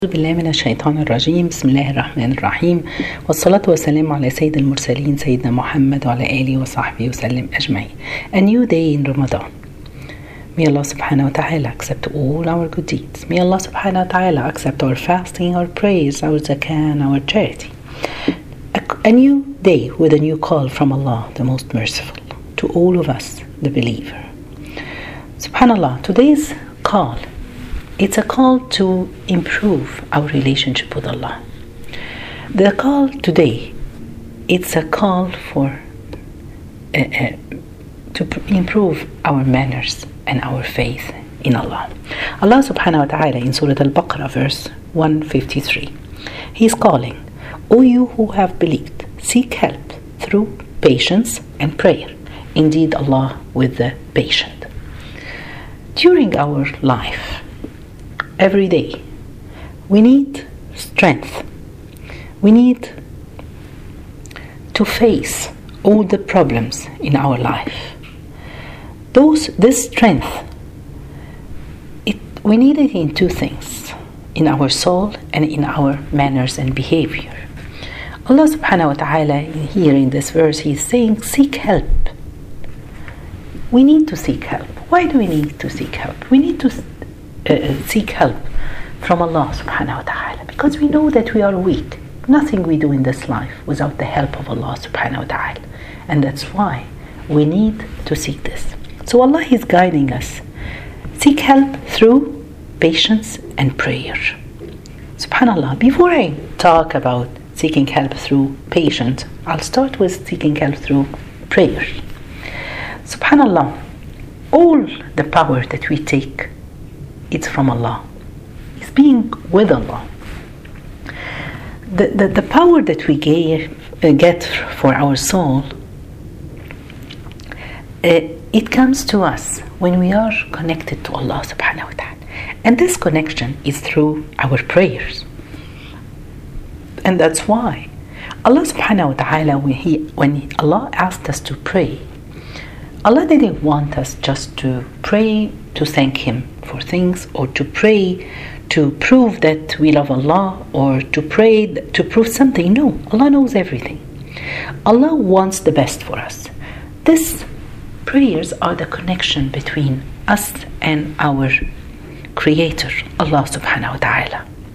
أعوذ بالله من الشيطان الرجيم. بسم الله الرحمن الرحيم، والصلاة والسلام على سيد المرسلين سيدنا محمد وعلى آله وصحبه وسلم أجمعين. A new day in Ramadan. May Allah subhanahu wa ta'ala accept all our good deeds. May Allah subhanahu wa ta'ala accept our fasting, our prayers, our zakah, our charity. A new day with a new call from Allah, the most merciful, to all of us, the believer. Subhanallah, today's call, it's a call to improve our relationship with Allah. The call today, it's a call for to improve our manners and our faith in Allah. Allah subhanahu wa ta'ala in Surah Al-Baqarah verse 153, He's calling, O you who have believed, seek help through patience and prayer. Indeed, Allah with the patient. During our life, every day, we need strength. We need to face all the problems in our life. This strength, we need it in two things, in our soul and in our manners and behavior. Allah subhanahu wa ta'ala here in this verse, He's saying, seek help. We need to seek help. Why do we need to seek help? We need to seek help from Allah subhanahu wa ta'ala because we know that we are weak. Nothing we do in this life without the help of Allah subhanahu wa ta'ala, and that's why we need to seek this. So Allah is guiding us. Seek help through patience and prayer. Subhanallah, before I talk about seeking help through patience, I'll start with seeking help through prayer. Subhanallah, all the power that we take, it's from Allah. It's being with Allah. The power that we get for our soul, it comes to us when we are connected to Allah subhanahu wa ta'ala. And this connection is through our prayers. And that's why Allah subhanahu wa ta'ala, when Allah asked us to pray, Allah didn't want us just to pray to thank Him for things, or to pray to prove that we love Allah, or to pray to prove something. No, Allah knows everything. Allah wants the best for us. These prayers are the connection between us and our Creator, Allah subhanahu wa ta'ala.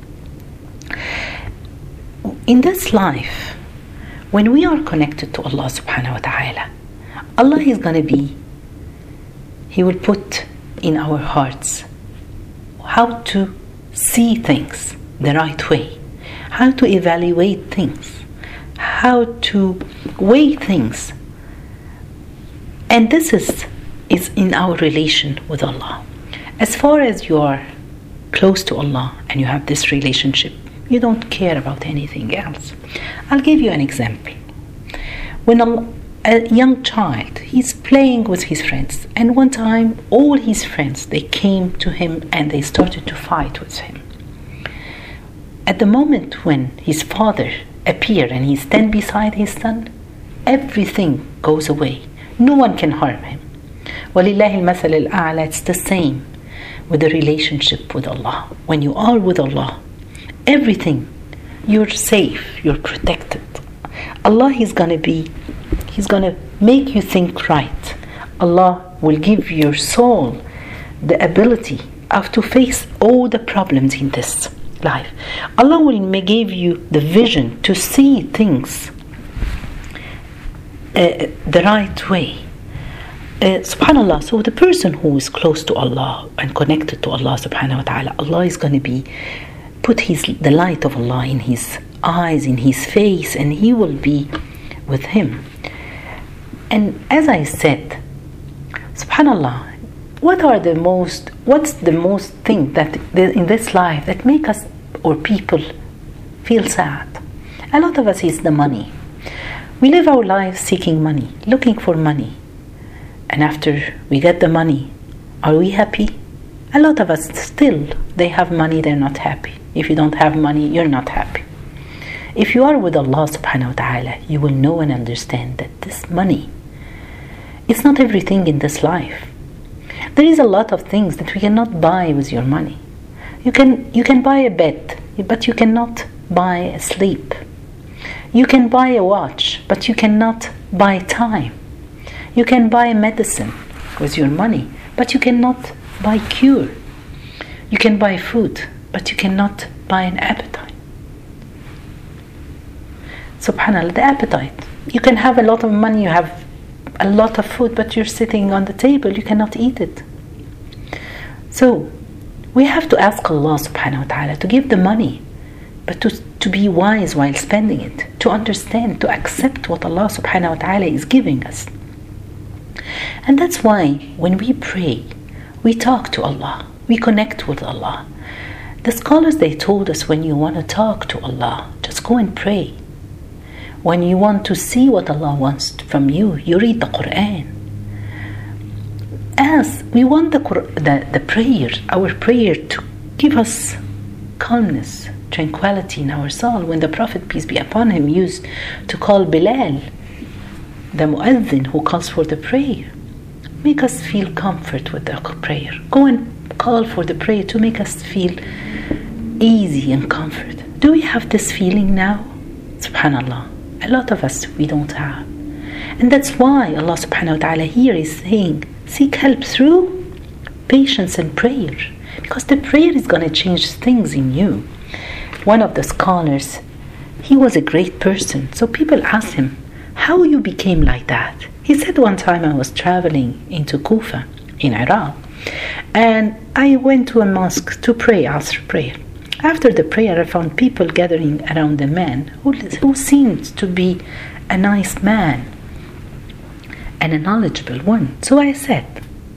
In this life, when we are connected to Allah subhanahu wa ta'ala, Allah is going to be, He will put in our hearts how to see things the right way, how to evaluate things, how to weigh things. And this is in our relation with Allah. As far as you are close to Allah and you have this relationship, you don't care about anything else. I'll give you an example. When a young child, he's playing with his friends, and one time all his friends, they came to him and they started to fight with him. At the moment when his father appeared and he stand beside his son, everything goes away. No one can harm him. وَلِلَّهِ الْمَثَلِ الْأَعْلَى. It's the same with the relationship with Allah. When you are with Allah, everything, you're safe, you're protected. Allah is going to He's going to make you think right. Allah will give your soul the ability to face all the problems in this life. Allah will give you the vision to see things the right way. Subhanallah, so the person who is close to Allah and connected to Allah subhanahu wa ta'ala, Allah is going to put the light of Allah in his eyes, in his face, and He will be with him. And as I said, subhanallah, what's the most thing that in this life that make us or people feel sad? A lot of us is the money. We live our lives seeking money, looking for money. And after we get the money, are we happy? A lot of us still, they have money, they're not happy. If you don't have money, you're not happy. If you are with Allah subhanahu wa ta'ala, you will know and understand that this money, it's not everything in this life. There is a lot of things that we cannot buy with your money. You can buy a bed but you cannot buy sleep. You can buy a watch, but you cannot buy time. You can buy medicine with your money, but you cannot buy cure. You can buy food, but you cannot buy an appetite. Subhanallah, the appetite. You can have a lot of money, you have a lot of food, but you're sitting on the table, you cannot eat it. So we have to ask Allah subhanahu wa ta'ala to give the money, but to be wise while spending it, to understand, to accept what Allah subhanahu wa ta'ala is giving us. And that's why when we pray, we talk to Allah, we connect with Allah. The scholars, they told us, when you want to talk to Allah, just go and pray. When you want to see what Allah wants from you, you read the Quran. As we want the prayer, our prayer, to give us calmness, tranquility in our soul. When the Prophet, peace be upon him, used to call Bilal, the muezzin who calls for the prayer, make us feel comfort with the prayer. Go and call for the prayer to make us feel easy and comfort. Do we have this feeling now? Subhanallah. A lot of us, we don't have. And that's why Allah subhanahu wa ta'ala here is saying, seek help through patience and prayer. Because the prayer is going to change things in you. One of the scholars, he was a great person. So people asked him, how you became like that? He said, one time I was traveling into Kufa in Iraq, and I went to a mosque to pray, Asr prayer. After the prayer, I found people gathering around a man who seemed to be a nice man and a knowledgeable one. So I said,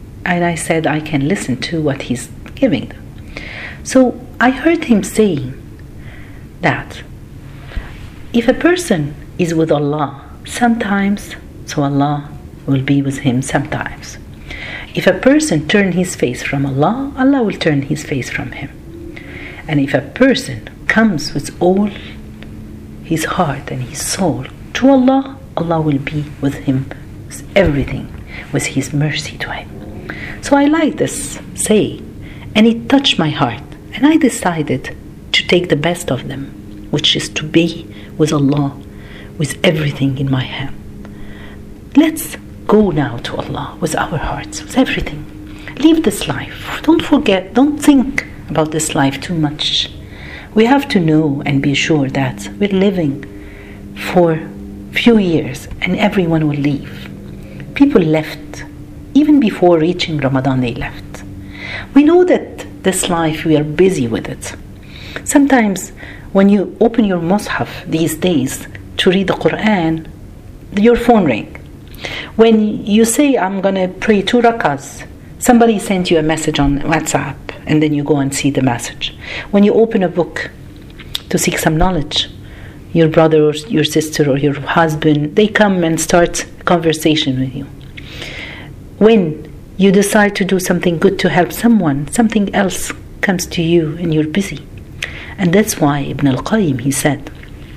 I can listen to what he's giving them. So I heard him saying that if a person is with Allah sometimes, so Allah will be with him sometimes. If a person turns his face from Allah, Allah will turn his face from him. And if a person comes with all his heart and his soul to Allah, Allah will be with him with everything, with his mercy to him. So I like this saying, and it touched my heart, and I decided to take the best of them, which is to be with Allah with everything in my hand. Let's go now to Allah with our hearts, with everything. Leave this life. Don't forget, don't think about this life too much. We have to know and be sure that we're living for few years and everyone will leave. People left. Even before reaching Ramadan, they left. We know that this life, we are busy with it. Sometimes when you open your Mus'haf these days to read the Quran, your phone rings. When you say, I'm going to pray 2 rakahs, somebody sends you a message on WhatsApp, and then you go and see the message. When you open a book to seek some knowledge, your brother or your sister or your husband, they come and start a conversation with you. When you decide to do something good to help someone, something else comes to you and you're busy. And that's why Ibn al-Qayyim, he said,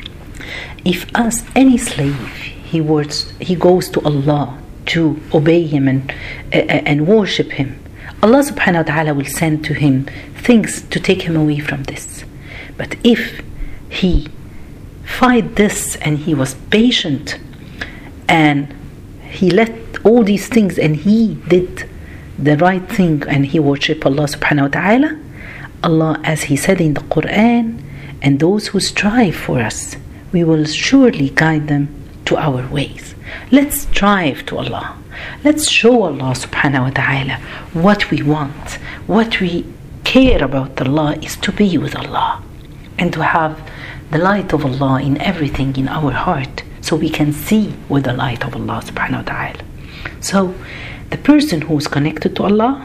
if as any slave, he goes to Allah to obey him and worship him, Allah subhanahu wa ta'ala will send to him things to take him away from this. But if he fight this and he was patient and he let all these things and he did the right thing and he worshiped Allah subhanahu wa ta'ala, Allah, as he said in the Quran, and those who strive for us, we will surely guide them to our ways. Let's strive to Allah. Let's show Allah subhanahu wa ta'ala what we want, what we care about Allah is to be with Allah and to have the light of Allah in everything in our heart so we can see with the light of Allah subhanahu wa ta'ala. So the person who is connected to Allah,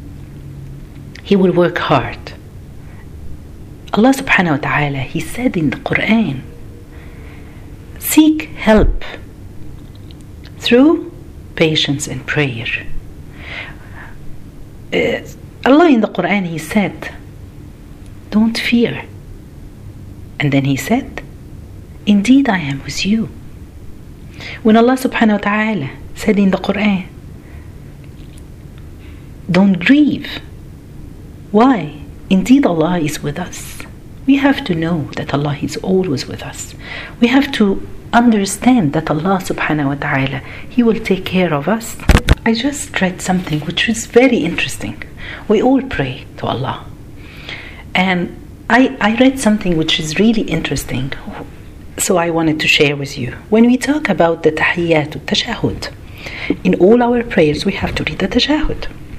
he will work hard. Allah subhanahu wa ta'ala, he said in the Quran, seek help through patience and prayer. Allah in the Quran, he said, don't fear. And then he said, indeed I am with you. When Allah subhanahu wa ta'ala said in the Quran, don't grieve. Why? Indeed Allah is with us. We have to know that Allah is always with us. We have to understand that Allah subhanahu wa ta'ala, He will take care of us. I just read something which is very interesting. We all pray to Allah. And I read something which is really interesting. So I wanted to share with you. When we talk about the tahiyyat, tashahhud, in all our prayers we have to read the tashahhud.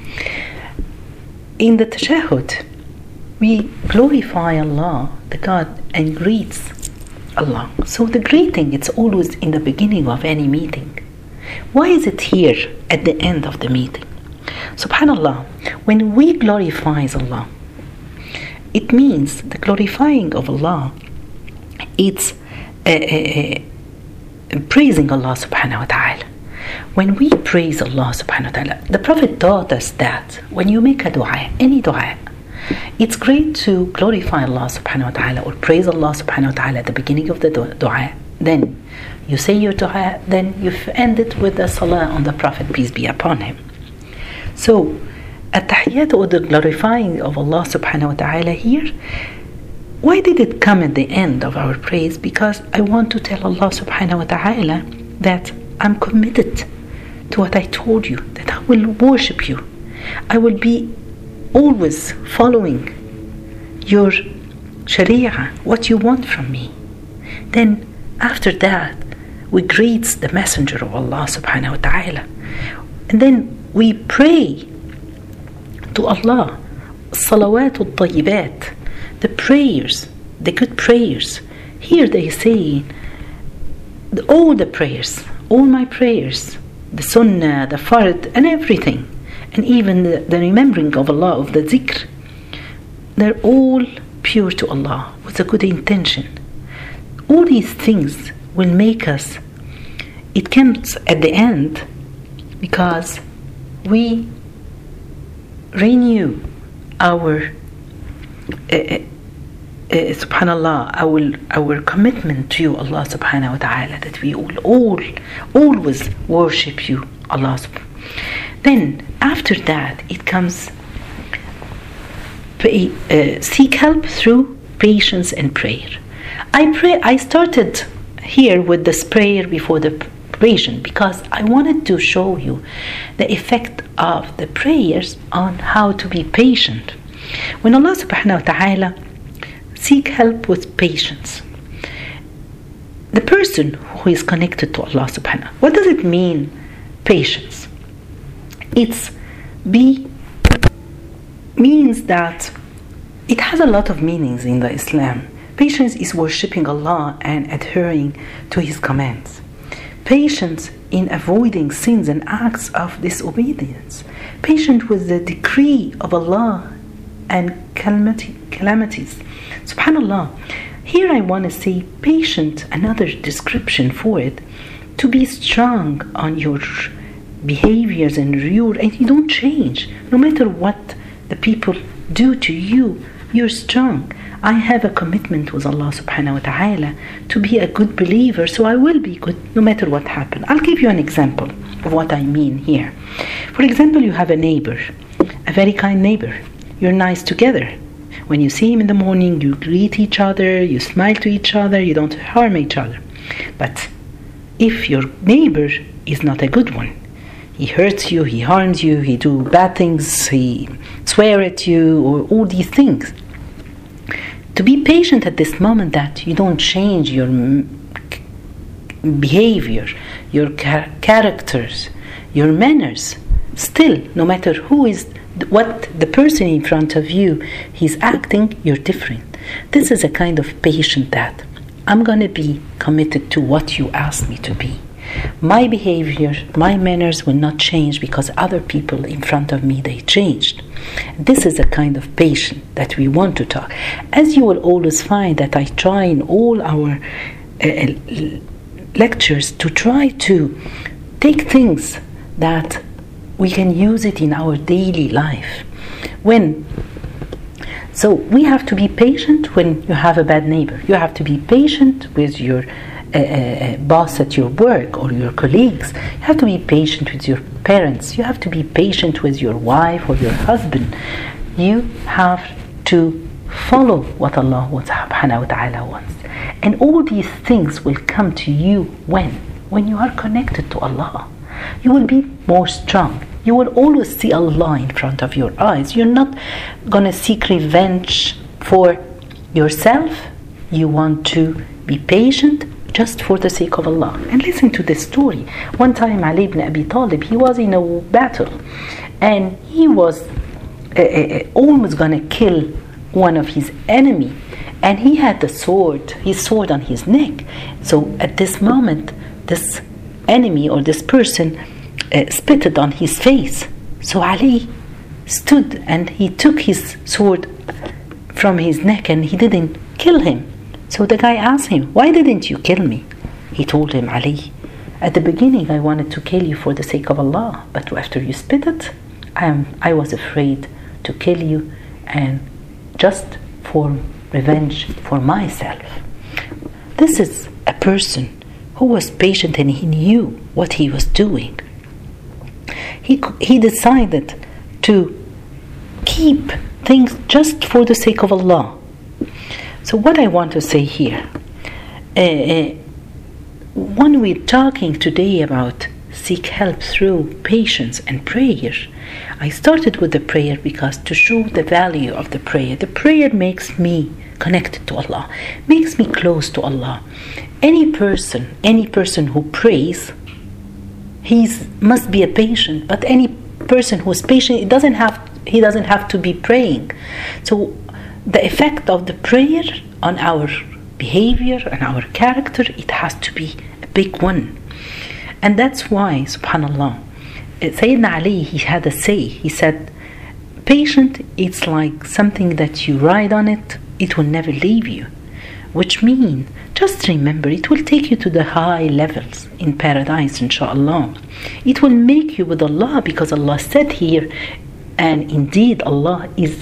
In the tashahhud, we glorify Allah, the God, and greets Allah. So the greeting, it's always in the beginning of any meeting. Why is it here at the end of the meeting? Subhanallah, when we glorify Allah, it means the glorifying of Allah, it's praising Allah subhanahu wa ta'ala. When we praise Allah subhanahu wa ta'ala, the Prophet taught us that when you make a dua, any dua, it's great to glorify Allah subhanahu wa ta'ala or praise Allah subhanahu wa ta'ala at the beginning of the dua. Then you say your dua, then you end it with the salah on the Prophet, peace be upon him. So, at-tahiyyat, or the glorifying of Allah subhanahu wa ta'ala here, why did it come at the end of our praise? Because I want to tell Allah subhanahu wa ta'ala that I'm committed to what I told you, that I will worship you. I will be always following your sharia, what you want from me. Then after that, we greet the messenger of Allah subhanahu wa ta'ala. And then we pray to Allah, salawat al-tayyibat, the prayers, the good prayers. Here they say, all the prayers, all my prayers, the sunnah, the fard, and everything, and even the remembering of Allah, of the zikr, they're all pure to Allah with a good intention. All these things will make us, it comes at the end because we renew our subhanallah, our commitment to you, Allah subhanahu wa ta'ala, that we will always worship you, Allah. Then after that, it comes seek help through patience and prayer. I started here with this prayer before the patient because I wanted to show you the effect of the prayers on how to be patient. When Allah subhanahu wa ta'ala seek help with patience, the person who is connected to Allah subhanahu, what does it mean, patience? It's means that it has a lot of meanings in the Islam. Patience is worshipping Allah and adhering to His commands. Patience in avoiding sins and acts of disobedience. Patient with the decree of Allah and calamities. Subhanallah. Here I want to say patient, another description for it, to be strong on your behaviors and you don't change. No matter what the people do to you, you're strong. I have a commitment with Allah subhanahu wa ta'ala to be a good believer, so I will be good no matter what happens. I'll give you an example of what I mean here. For example, you have a neighbor, a very kind neighbor. You're nice together. When you see him in the morning, you greet each other, you smile to each other, you don't harm each other. But if your neighbor is not a good one, he hurts you, he harms you, he do bad things, he swear at you, or all these things. To be patient at this moment that you don't change your behavior, your characters, your manners. Still, no matter who is, what the person in front of you, he's acting, you're different. This is a kind of patience that I'm going to be committed to what you asked me to be. My behavior, my manners will not change because other people in front of me, they changed. This is a kind of patience that we want to talk. As you will always find that I try in all our lectures to try to take things that we can use it in our daily life. So we have to be patient when you have a bad neighbor. You have to be patient with your boss at your work or your colleagues. You have to be patient with your parents. You have to be patient with your wife or your husband. You have to follow what Allah subhanahu wa ta'ala wants. And all these things will come to you when you are connected to Allah. You will be more strong. You will always see Allah in front of your eyes. You're not gonna seek revenge for yourself. You want to be patient just for the sake of Allah. And listen to this story. One time Ali ibn Abi Talib, he was in a battle and he was almost gonna kill one of his enemy, and he had his sword on his neck. So at this moment, this enemy or this person spitted on his face. So Ali stood and he took his sword from his neck and he didn't kill him. So the guy asked him, "Why didn't you kill me?" He told him, "Ali, at the beginning I wanted to kill you for the sake of Allah, but after you spit it, I was afraid to kill you and just for revenge for myself." This is a person who was patient and he knew what he was doing. He decided to keep things just for the sake of Allah. So what I want to say here, when we're talking today about seek help through patience and prayer, I started with the prayer because to show the value of the prayer. The prayer makes me connected to Allah, makes me close to Allah. Any person who prays, he must be a patient. But any person who is patient, he doesn't have to be praying. So the effect of the prayer on our behavior and our character, it has to be a big one. And that's why, subhanallah, Sayyidina Ali, he had a say. He said, patient, it's like something that you ride on it, it will never leave you. Which means, just remember, it will take you to the high levels in paradise, inshallah. It will make you with Allah, because Allah said here, and indeed Allah is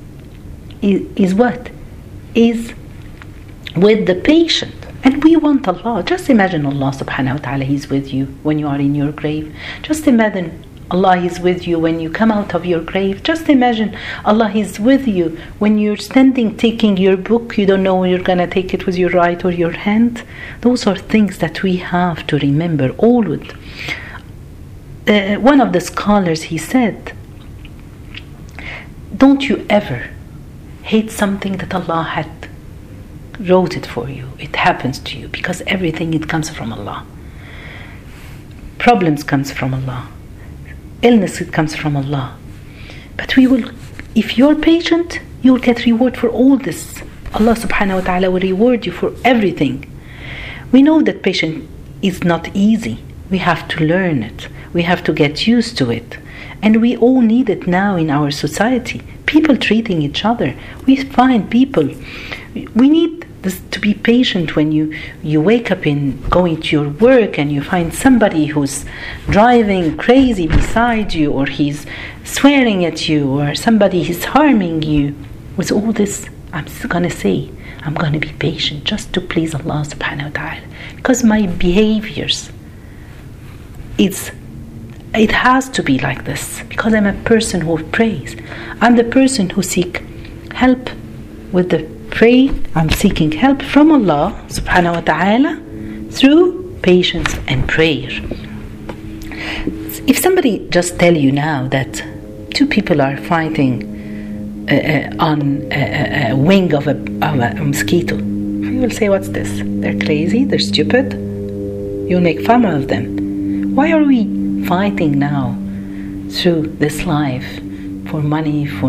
what? Is with the patient. And we want Allah. Just imagine Allah subhanahu wa ta'ala, He's with you when you are in your grave. Just imagine Allah is with you when you come out of your grave. Just imagine Allah is with you when you're standing taking your book. You don't know where you're going to take it with your right or your hand. Those are things that we have to remember always. One of the scholars, he said, don't you ever hate something that Allah had wrote it for you. It happens to you because everything, it comes from Allah. Problems comes from Allah. Illness, it comes from Allah. But if you're patient, you will get reward for all this. Allah subhanahu wa ta'ala will reward you for everything. We know that patience is not easy. We have to learn it. We have to get used to it. And we all need it now in our society. People treating each other. We find people. We need this, to be patient when you wake up in going to your work and you find somebody who's driving crazy beside you, or he's swearing at you, or somebody is harming you. With all this, I'm still going to say, I'm going to be patient just to please Allah subhanahu wa ta'ala. Because my behaviors, it has to be like this, because I'm a person who prays. I'm the person who seek help with the pray. I'm seeking help from Allah subhanahu wa ta'ala through patience and prayer. If somebody just tell you now that two people are fighting on a wing of a mosquito, you will say, what's this? They're crazy, they're stupid. You'll make fun of them. Why are we fighting now through this life for money, for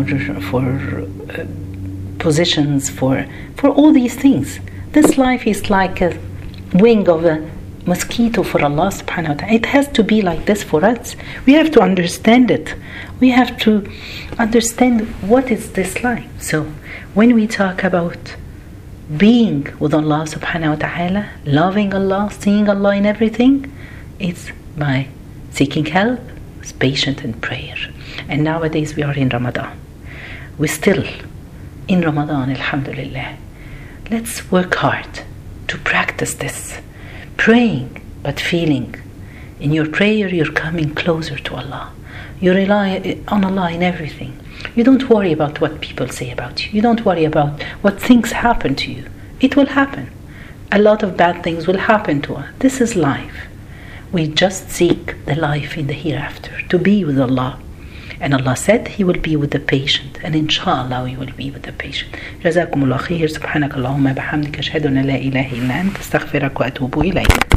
positions, for all these things? This life is like a wing of a mosquito for Allah subhanahu wa ta'ala. It has to be like this for us. We have to understand it. We have to understand what is this life. So when we talk about being with Allah subhanahu wa ta'ala, loving Allah, seeing Allah in everything, it's by seeking help, patience and prayer. And nowadays we are in Ramadan. We're still in Ramadan, alhamdulillah. Let's work hard to practice this. Praying, but feeling In your prayer, you're coming closer to Allah. You rely on Allah in everything. You don't worry about what people say about you. You don't worry about what things happen to you. It will happen. A lot of bad things will happen to us. This is life. We just seek the life in the hereafter, to be with Allah. And Allah said He will be with the patient. And inshallah we will be with the patient. جزاكم الله خير. سبحانك اللهم بحمدك أشهد أن لا إله إلا أنت أستغفرك وأتوب إليك.